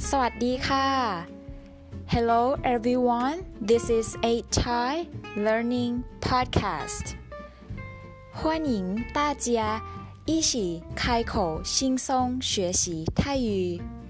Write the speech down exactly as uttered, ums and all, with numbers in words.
สวัสดีค่ะ Hello everyone, this is eight Thai Learning Podcast. 欢迎大家一起开口轻松学习泰语